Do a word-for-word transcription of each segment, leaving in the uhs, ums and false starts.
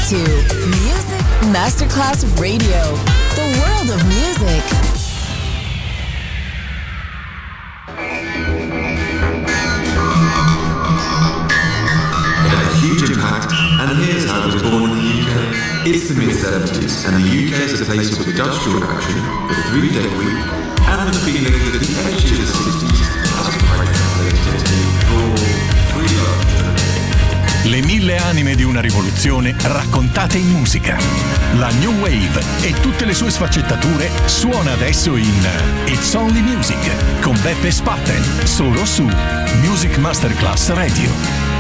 to Music Masterclass Radio, the world of music. It had a huge impact, and here's how it was born in the U K. It's the mid seventies, and the U K is a place with industrial action, the three-day week, and the feeling that the edge of the sixties has quite translated into free love. Le mille anime di una rivoluzione raccontate in musica. La New Wave e tutte le sue sfaccettature suona adesso in It's Only Music con Beppe Spatten, solo su Music Masterclass Radio.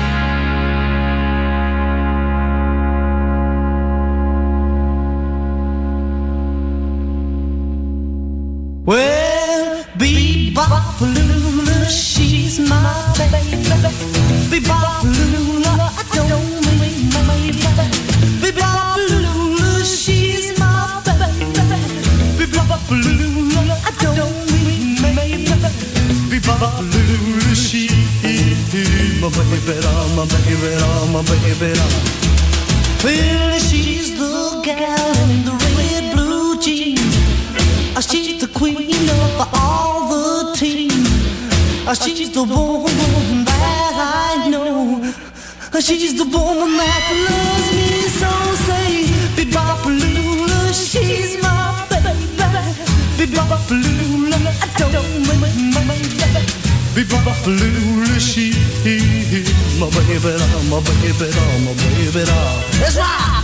Well, Bebop Lula, she's my baby. Bebop Lula, I don't mean my baby. Bebop Lula, she's my baby. Bebop Lula, I don't mean my baby. Bebop Lula, she's my baby, my baby, my baby. Well, she's the gal in the red blue jeans. She's the queen of all the team. She's the woman that I know. She's the woman that loves me so. Say, Bebop Lula, she's my baby. Bebop Lula, I don't mean my baby. Bebop Lula, she's my baby, my baby, my baby. Let's rock!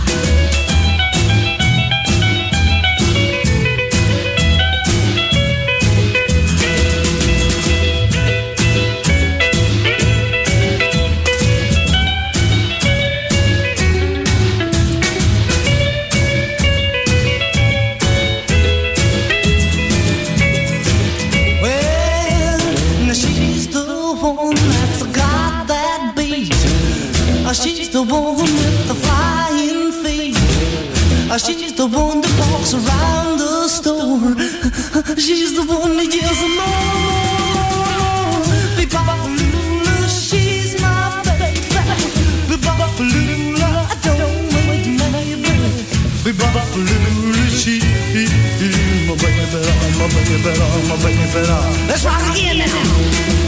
She's the one with the flying feet. She's the one that walks around the store. She's the one that yells more. Bebop Lula, she's my baby. Bebop Lula, I don't mean my baby. Bebop Lula, she's my baby, my baby, my baby. Let's rock again now.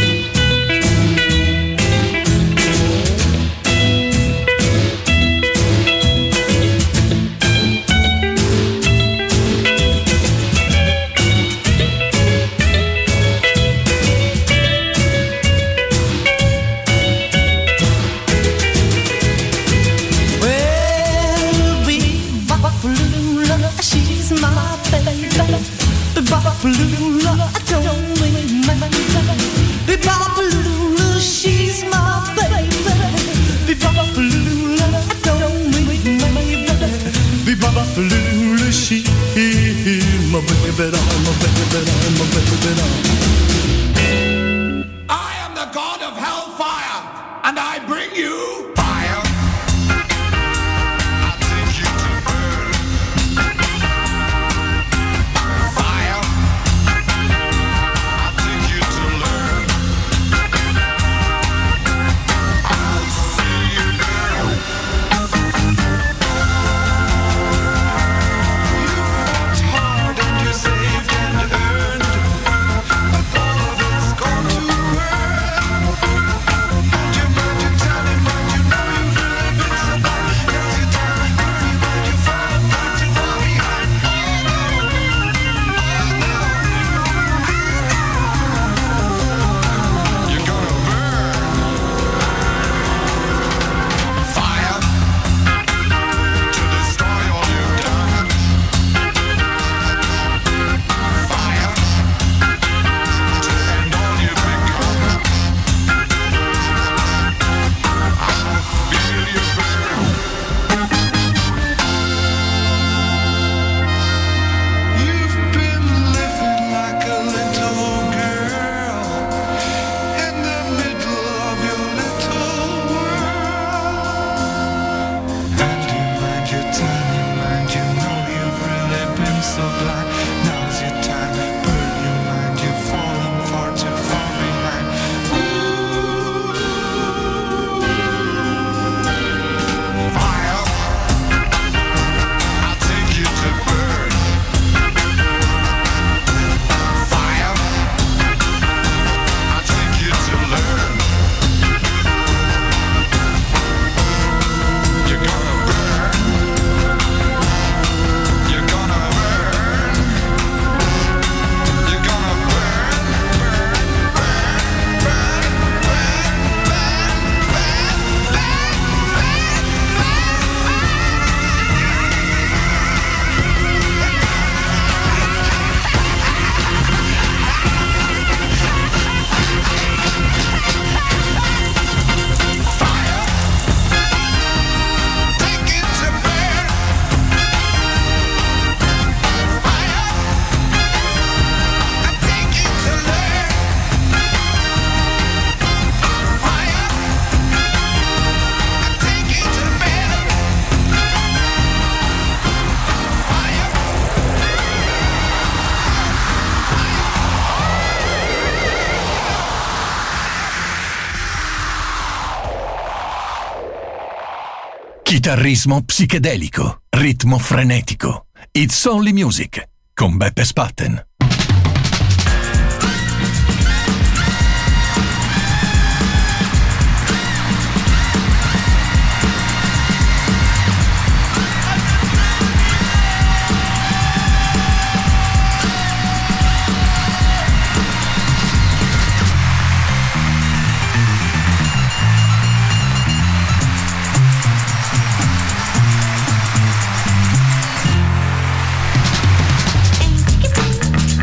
Lula, I don't mean my baby. Bebop Lula, she's my baby. Bebop Lula, I don't mean my baby. Bebop Lula, she's my baby, my baby, my baby. I am the god of hellfire, and I bring you fire. Gone to earth, and your magic talent, mind you Chitarrismo psichedelico, ritmo frenetico. It's Only Music con Beppe Spatten. Thank you.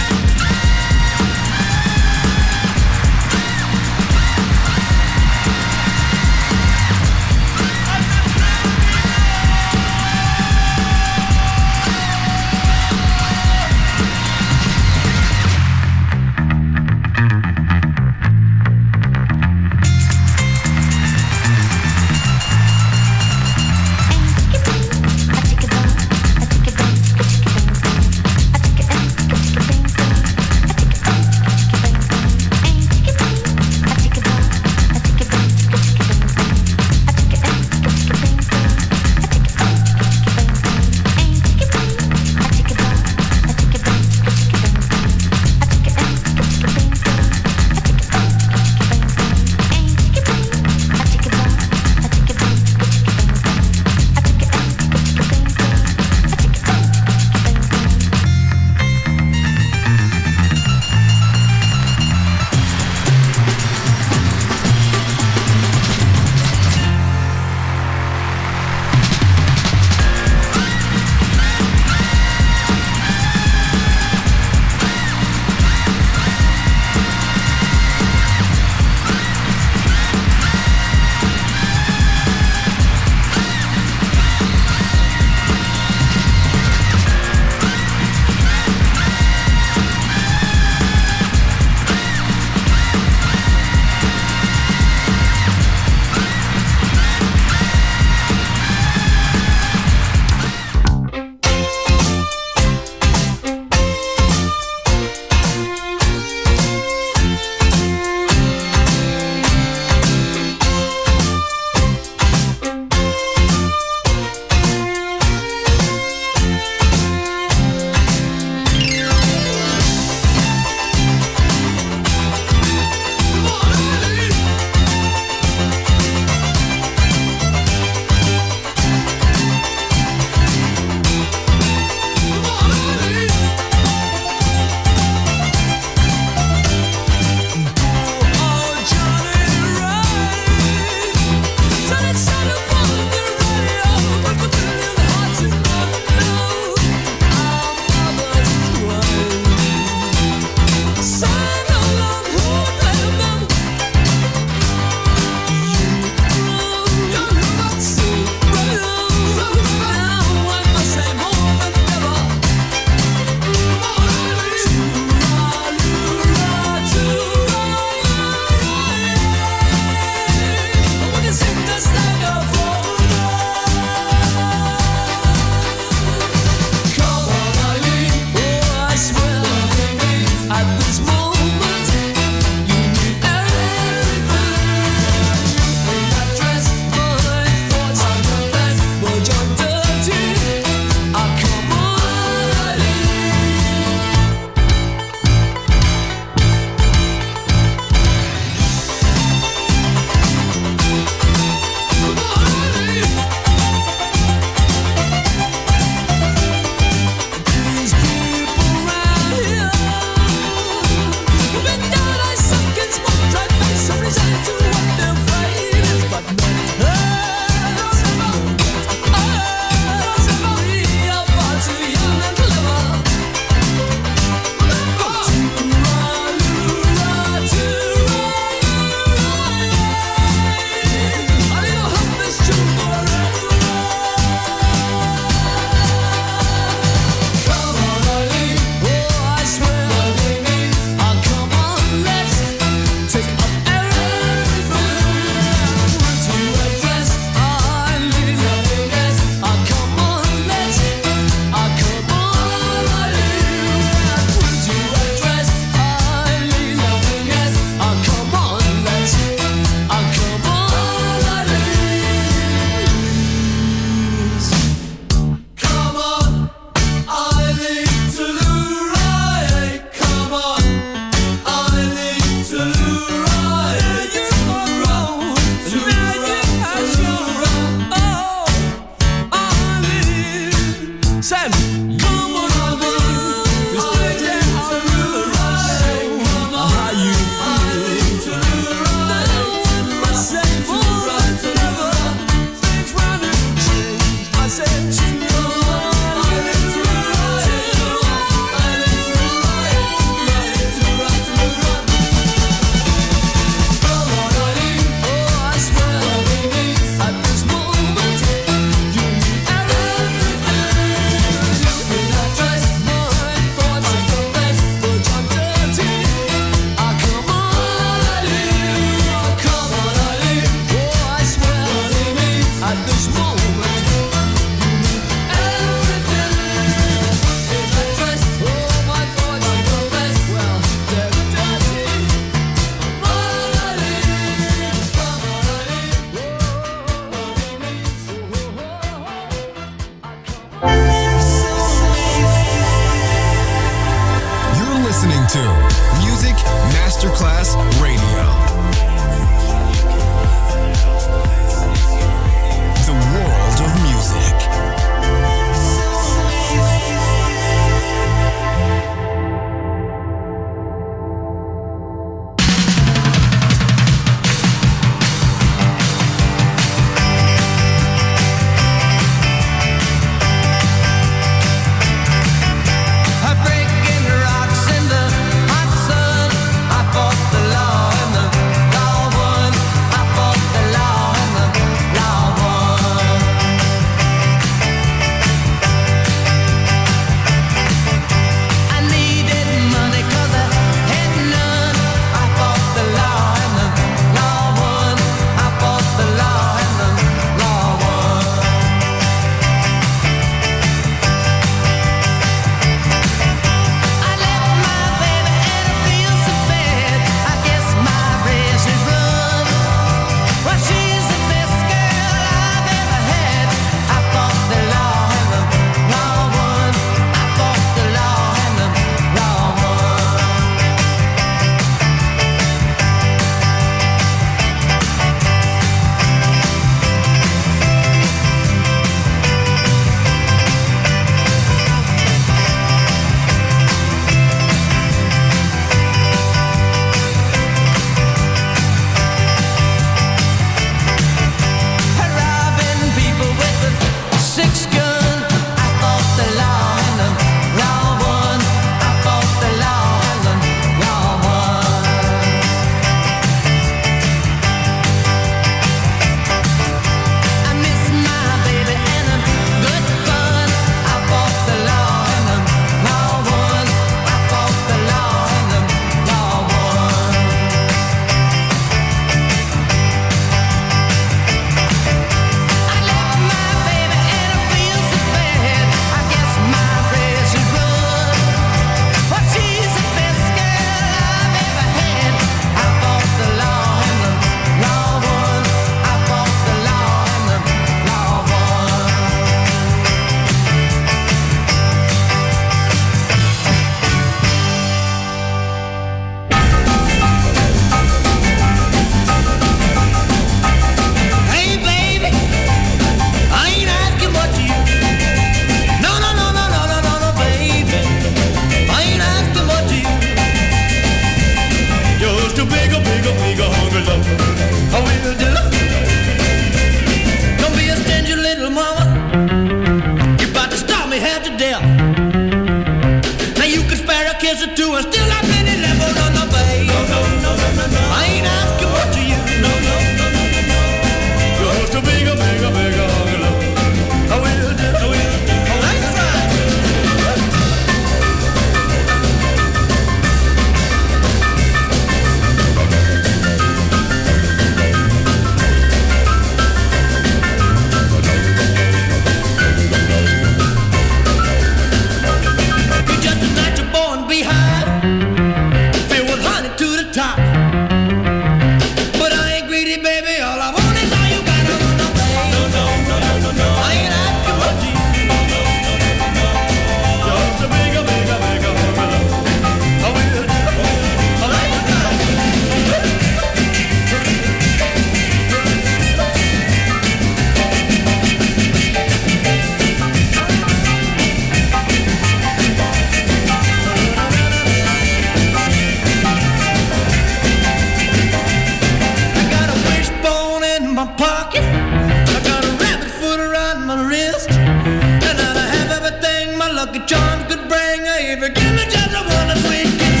baby, give me just a one sweet kiss.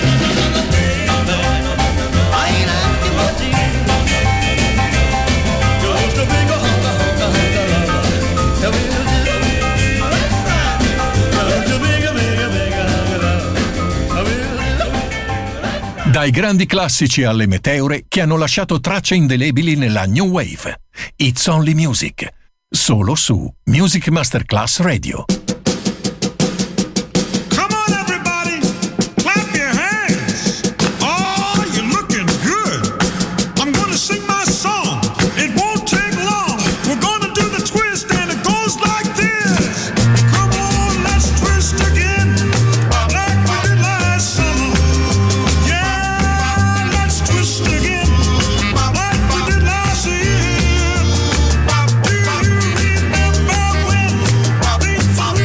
I ain't asking much of you. Just a big hunka, hunka, hunka lover. I will do. That's right. Just a big, big, big hunka lover. I will do. Dai grandi classici alle meteore che hanno lasciato tracce indelebili nella New Wave. It's Only Music. Solo su Music Masterclass Radio. Follow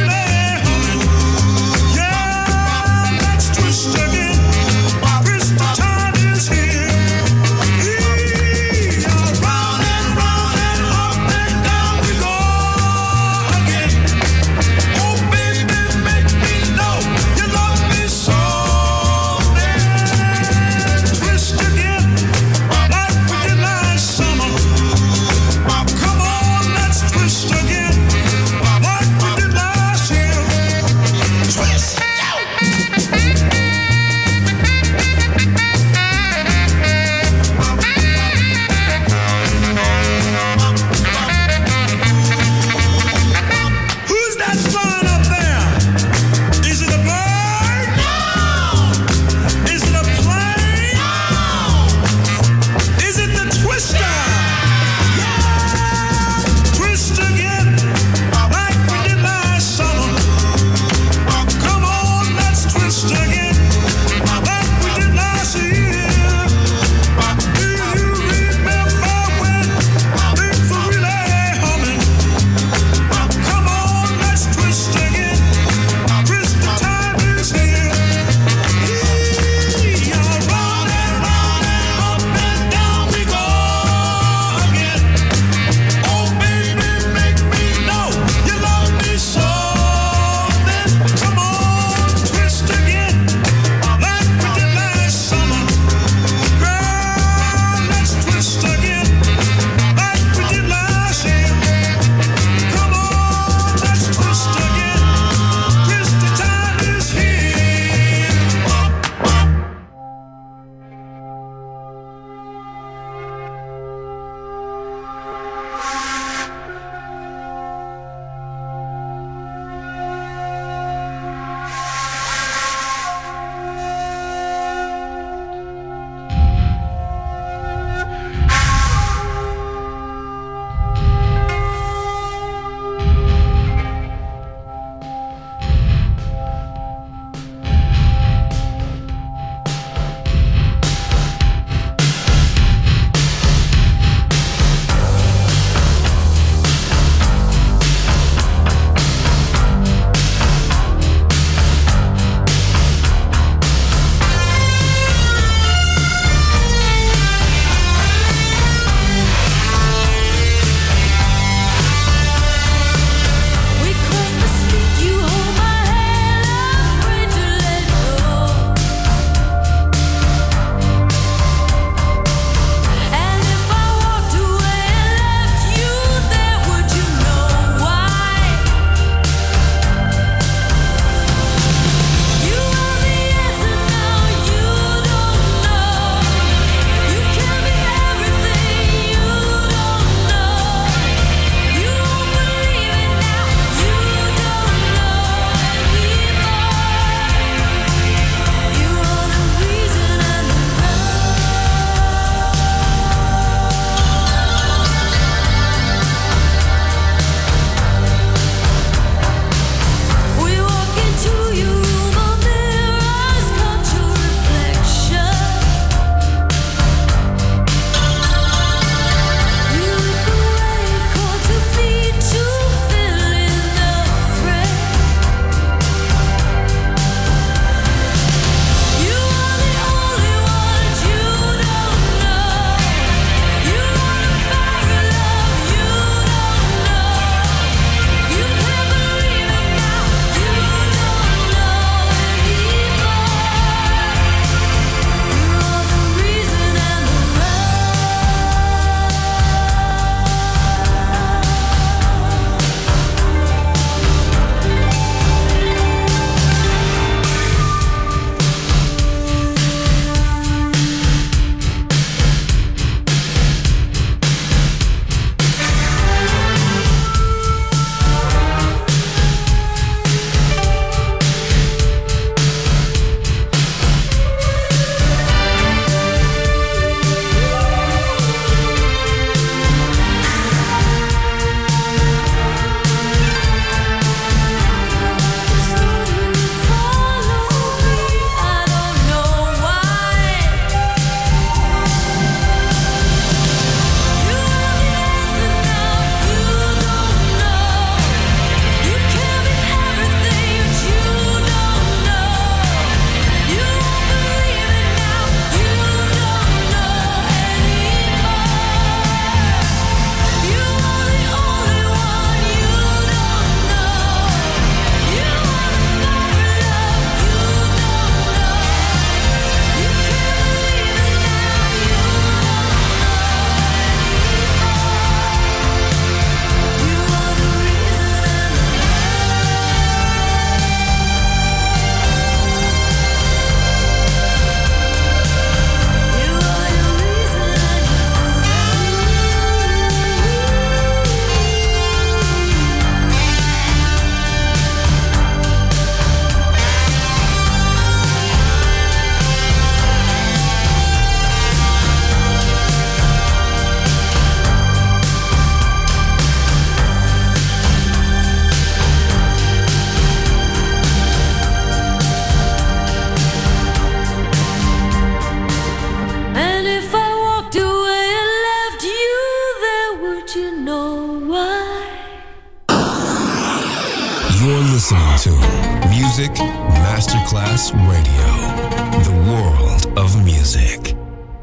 listening to Music Masterclass Radio, the world of music.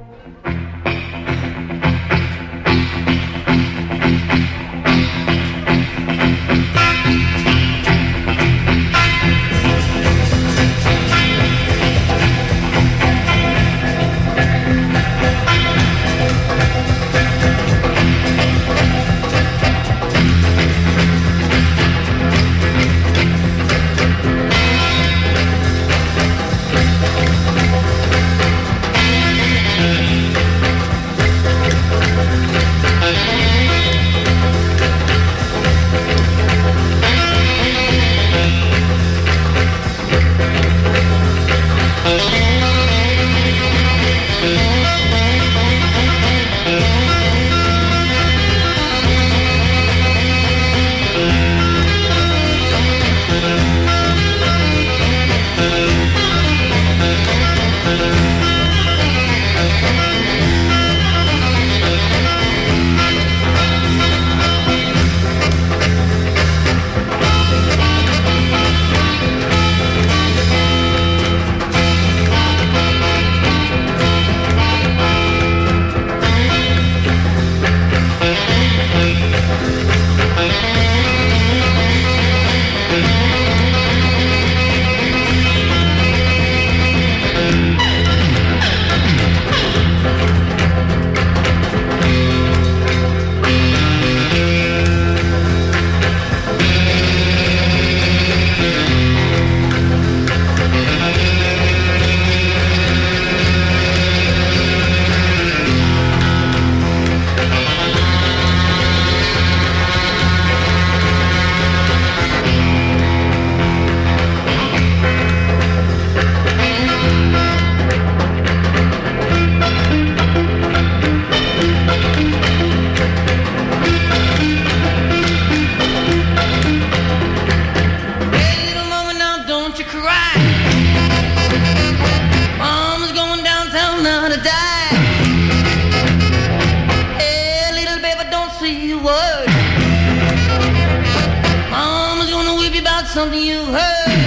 Something you heard.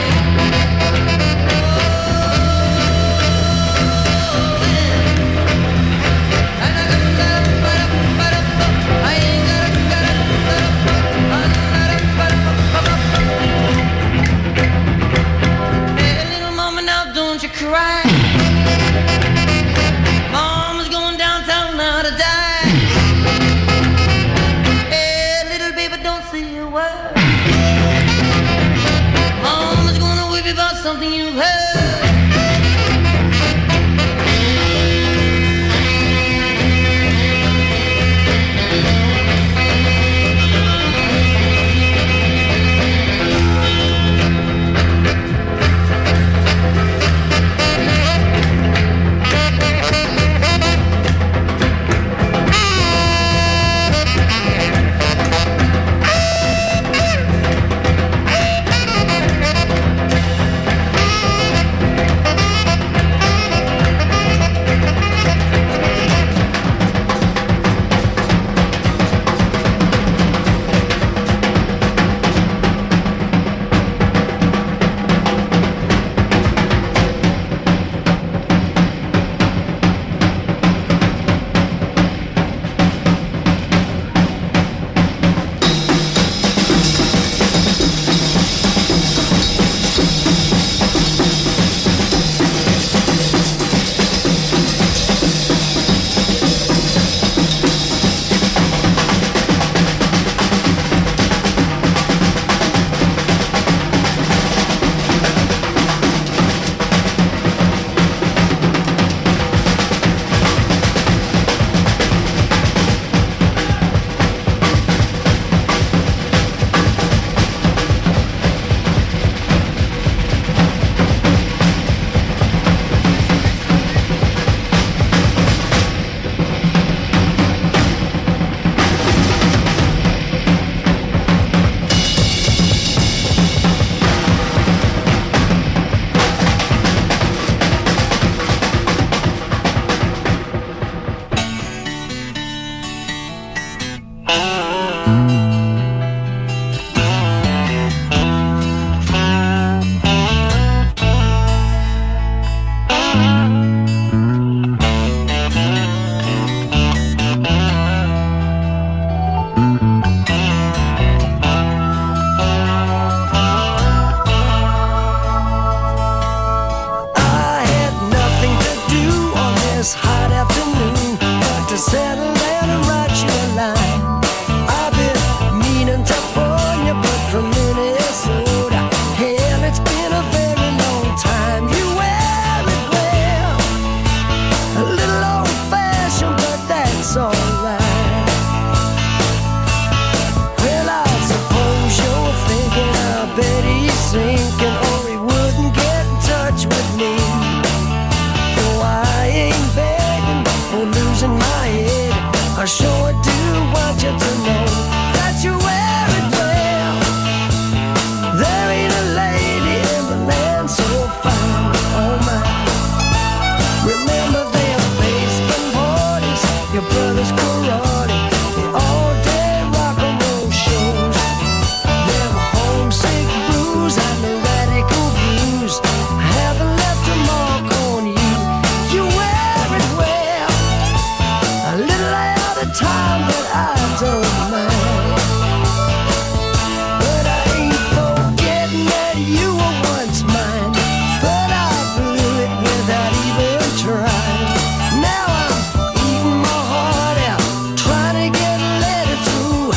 Hey, little mama, now don't you cry. Mama's going downtown now to die. Hey, little baby, don't say a word. Mama's gonna whip you about something you heard. gonna write you a line. I've been meaning to phone you, but from Minnesota. Hell, it's been a very long time. You wear it well, a little old-fashioned, but that's alright. Well, I suppose you're thinking, I bet he's sinking, or he wouldn't get in touch with me. Though I ain't begging or losing my head, I sure do want you to know that you wear it well. There ain't a lady in the land so fine, oh my. Remember their basement parties, your brother's karate, the all-day rock and roll shows, them homesick blues and the radical views haven't left a mark on you. You wear it well, a little out of time, but I don't mind. But I ain't forgetting that you were once mine, but I blew it without even trying. Now I'm eating my heart out, trying to get a letter through.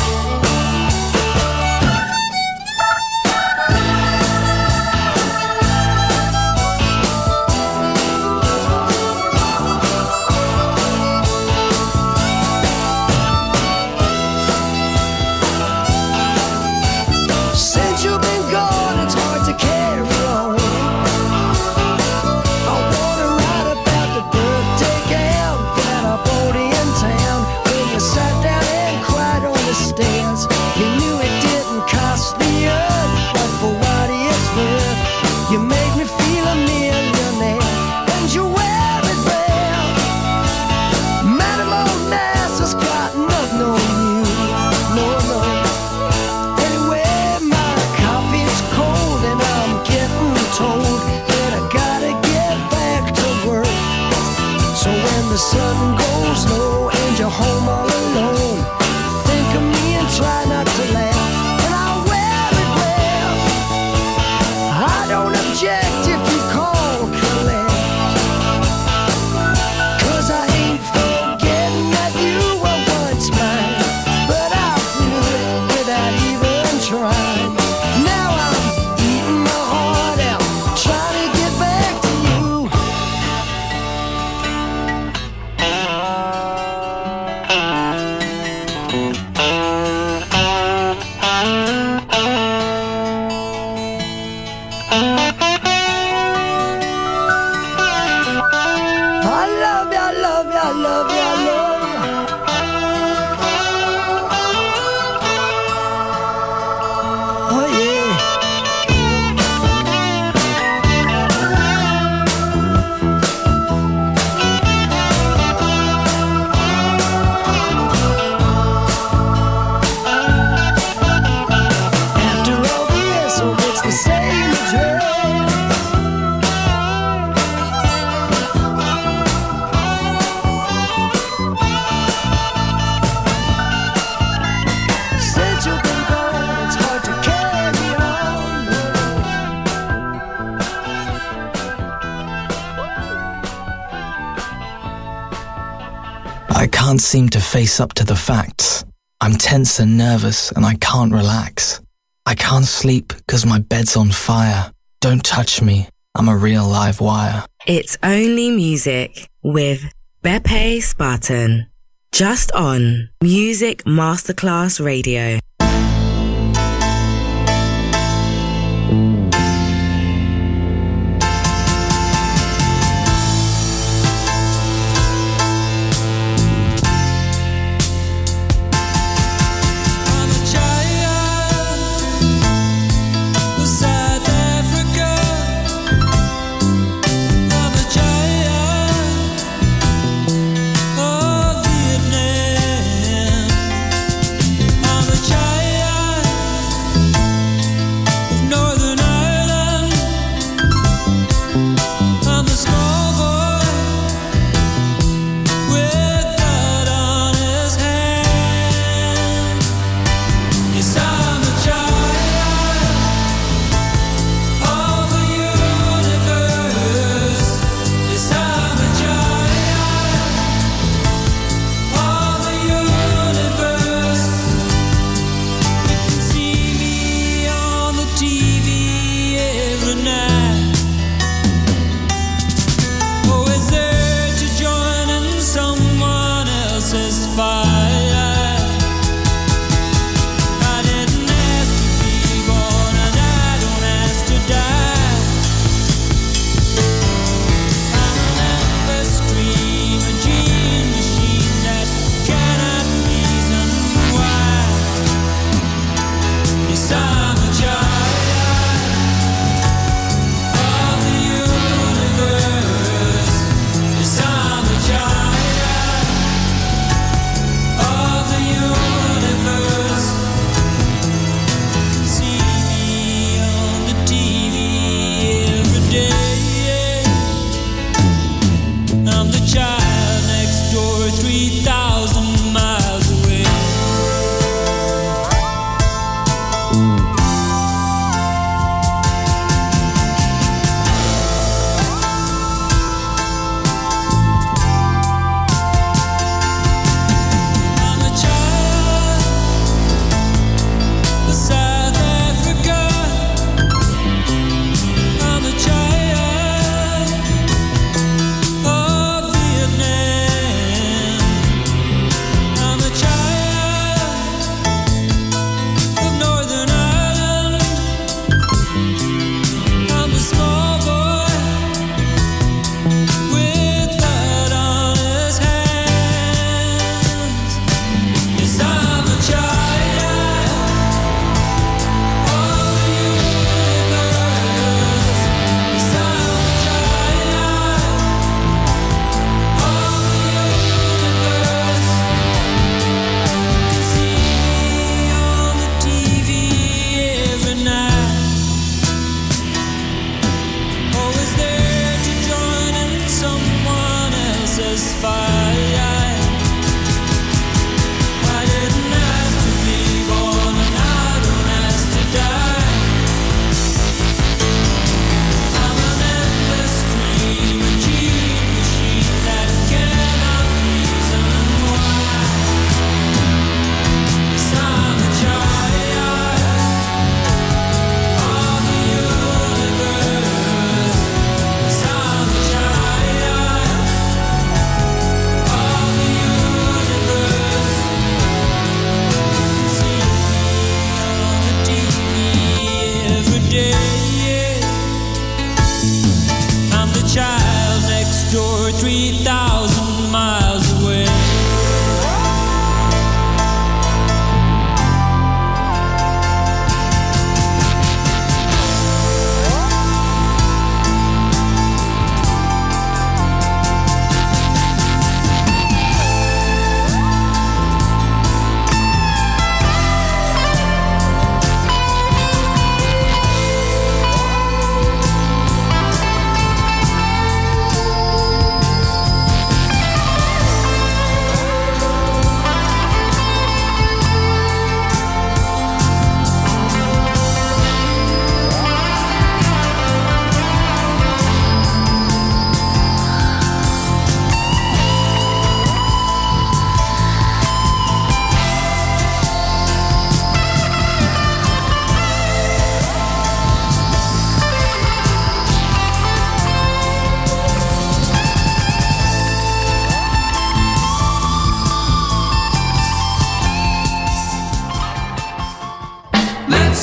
Since you've been gone, it's hard to carry on. I wanna write about the birthday gown that I bought in town, when you sat down and cried on the stairs. You knew it didn't cost the earth, but for what it's worth, you made me feel a millionaire, and you wear it well. Madam Onassis got nothing on you, no, no. Anyway, my coffee's cold and I'm getting told that I gotta get back to work. So when the sun goes low and you're home all alone, think of me and try not to laugh, and I'll wear it well. I don't object if you call collect, 'cause I ain't forgetting that you were once mine, but I blew it without even trying. Now I'm eating my heart out, trying to get back to you. I love you, I love you, I love you, I love you. Oh yeah. After all this, oh, it's the same address. Since you've been gone, it's hard to carry on. I can't seem to face up to the facts. I'm tense and nervous and I can't relax. I can't sleep because my bed's on fire. Don't touch me, I'm a real live wire. It's Only Music with Beppe Spartan. Just on Music Masterclass Radio. Child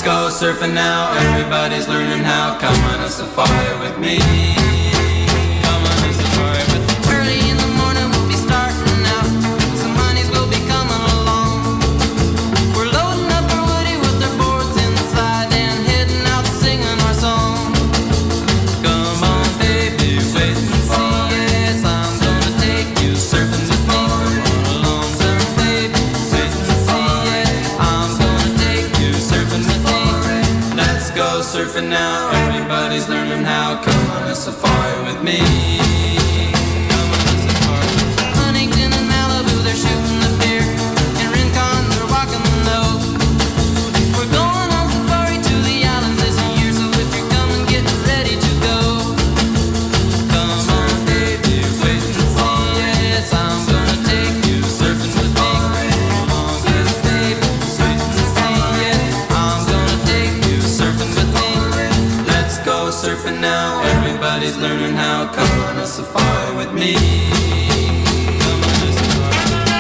Let's go surfing now, everybody's learning how. Come on a safari with me. Come on a safari with me. Early in the morning we'll be starting out. Some honeys will be coming along. We're loading up our woody with our boards inside and heading out singing our song. Come on baby, wait and see. Yes, I'm gonna take you surfing with me. Come on along, surf baby, wait and see. Yes, I'm gonna take you surfing with me. Let's go surfing now, everybody's learning how. Come on a safari with me. Come on a safari. Huntington and Malibu, they're shooting the pier. In Rincon, they're walking the nose. We're going on safari to the islands this year, so if you're coming, get ready to go. Come on baby, wait and see. Yes, I'm gonna take you surfing with me. Come on baby, wait and see. Yes, I'm gonna take you surfing with me. Let's go surfing now, everybody's learning how. Come on a safari with me. Come on a safari.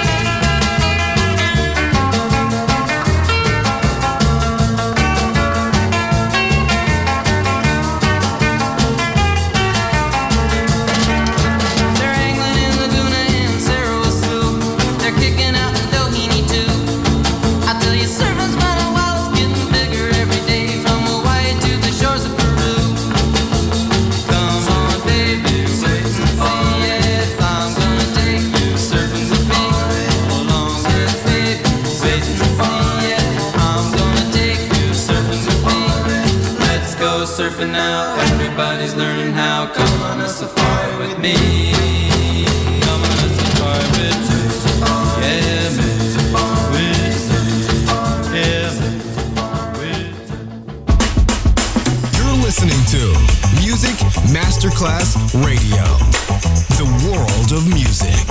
They're angling in Laguna and Sarasoo. They're kicking out in Doheny too. I tell you, surfing's fun and wild, it's getting bigger every day. From Hawaii to the shores of Peru. Come on baby, wait and see. Yes, I'm gonna take you surfing with me. Hold on, yes baby, wait and see. Yes, I'm gonna take you surfing with me. Let's go surfing now, everybody's learning how. Come on a safari with me. Come on a safari with me. Yeah, me. With me. Yeah, me. With me. You're listening to Music Masterclass Radio, the world of music.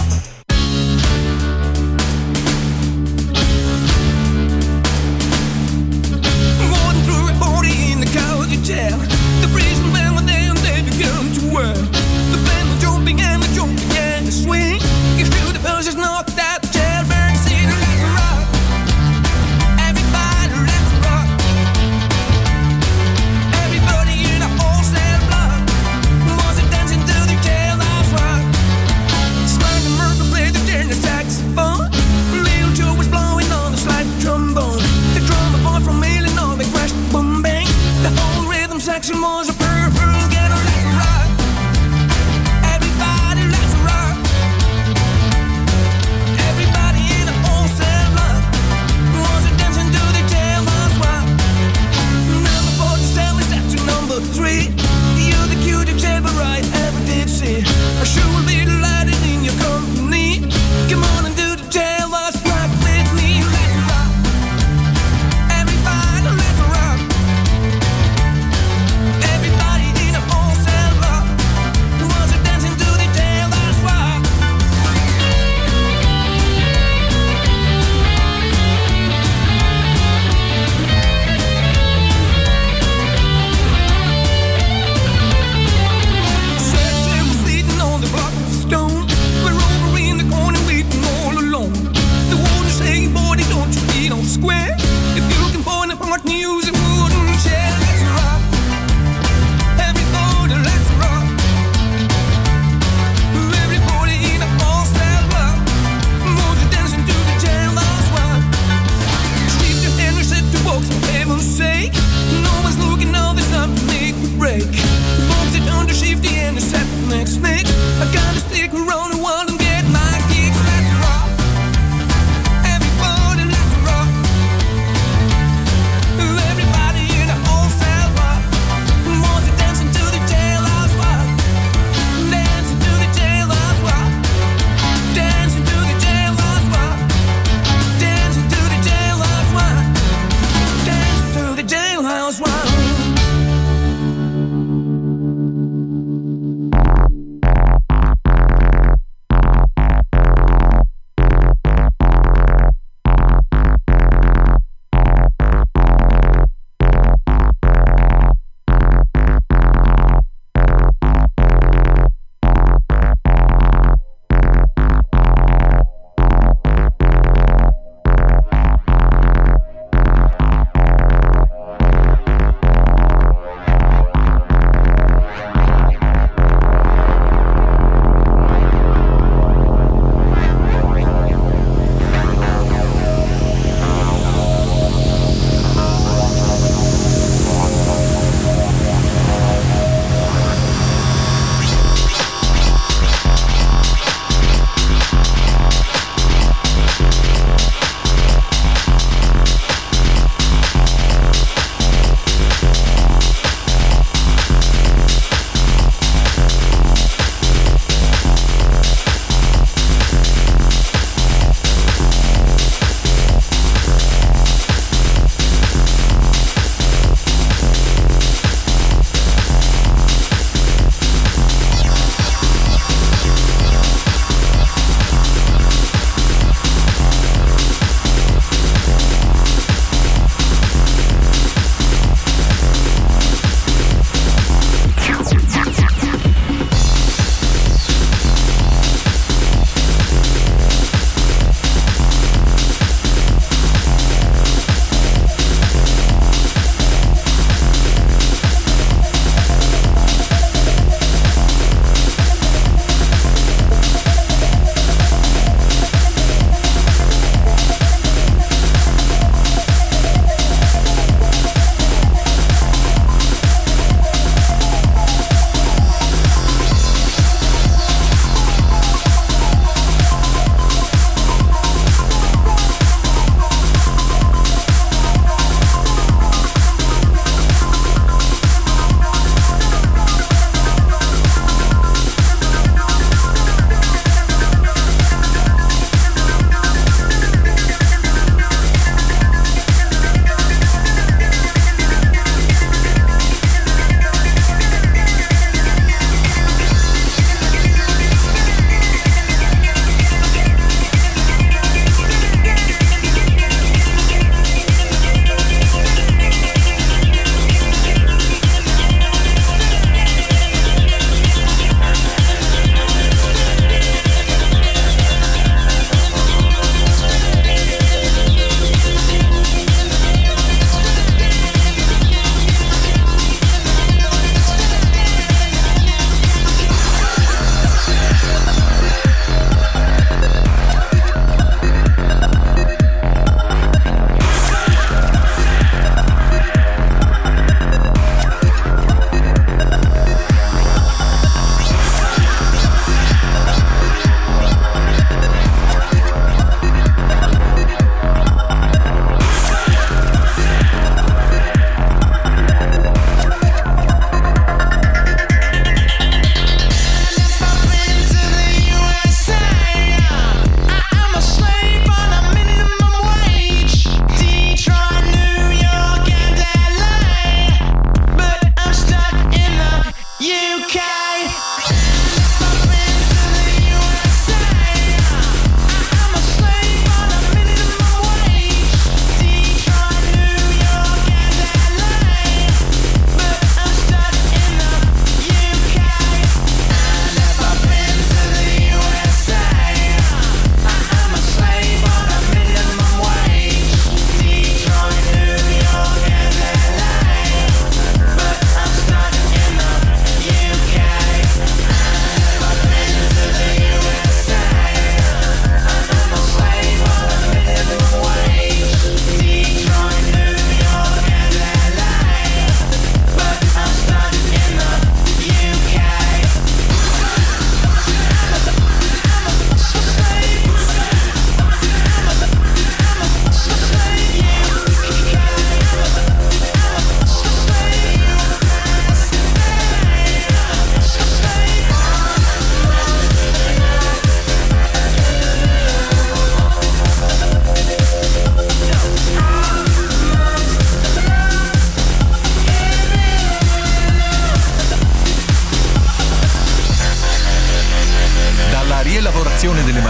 Going through a party in the cozy chair. The breeze and band were there and they began to wear. The band was jumping and the jump began to swing. You feel the pulses knock that chair. Burn the city, let's rock. Everybody, let's rock. Everybody in a wholesale block was dancing to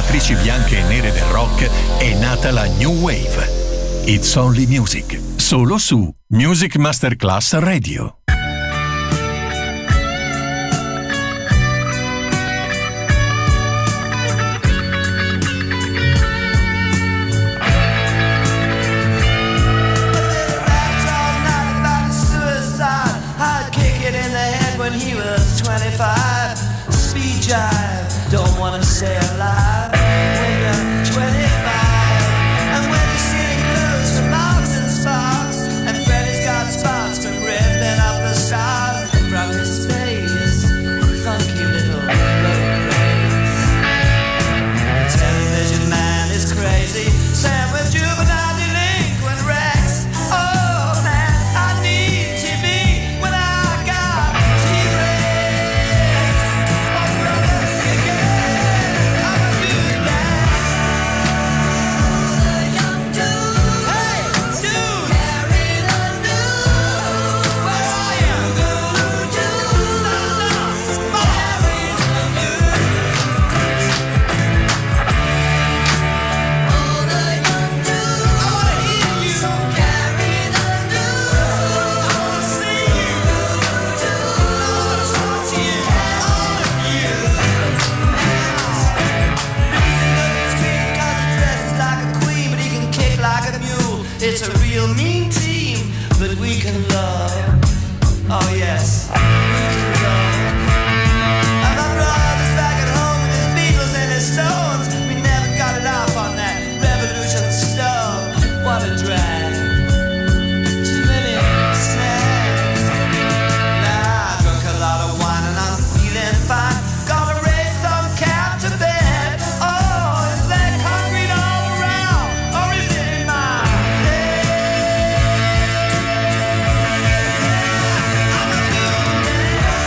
matrici bianche e nere del rock è nata la New Wave. It's Only Music, solo su Music Masterclass Radio. Speed jive, don't wanna stay alive when you're twenty-five. And when you're seeing clothes from Marks and Sparks, and Freddy's got spots from ripping up the stars from his face, funky little boat race. The television man is crazy, Sam with juvenile delinquent Rex. Oh man, I need T V when I got It's a real mean team, but we can love. Oh yes, we can love. And my brother's back at home with his Beatles and his Stones. We never got it off on that revolution stove. What a drag. Too many snacks. Nah, I drunk a lot of wine and I'm feeling fine. Gonna raise some cap to bed. Oh, is that concrete all around? Or is it in my head? I'm a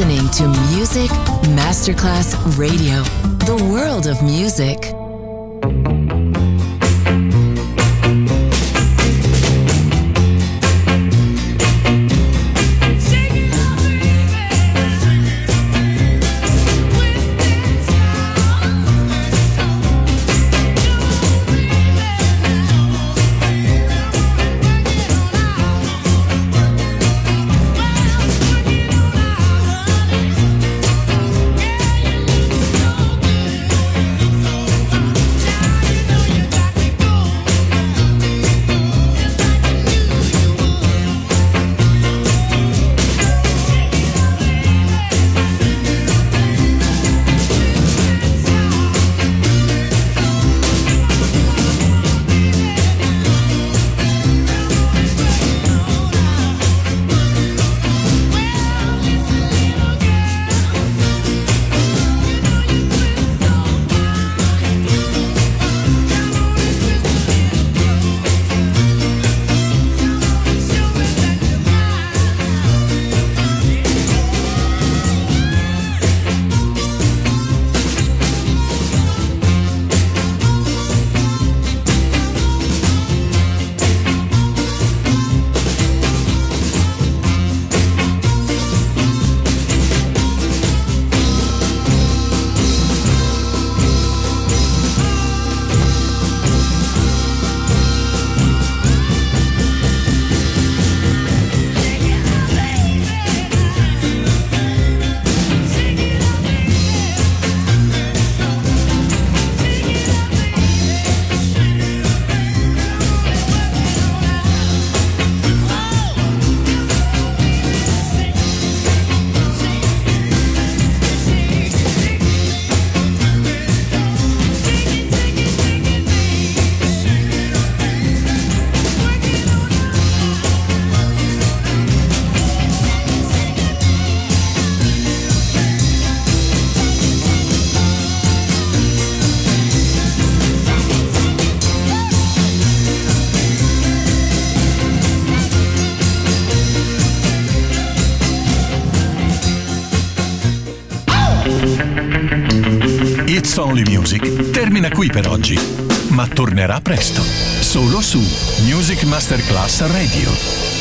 listening to Music Masterclass Radio, the world of music. It's Only Music termina qui per oggi, ma tornerà presto, solo su Music Masterclass Radio.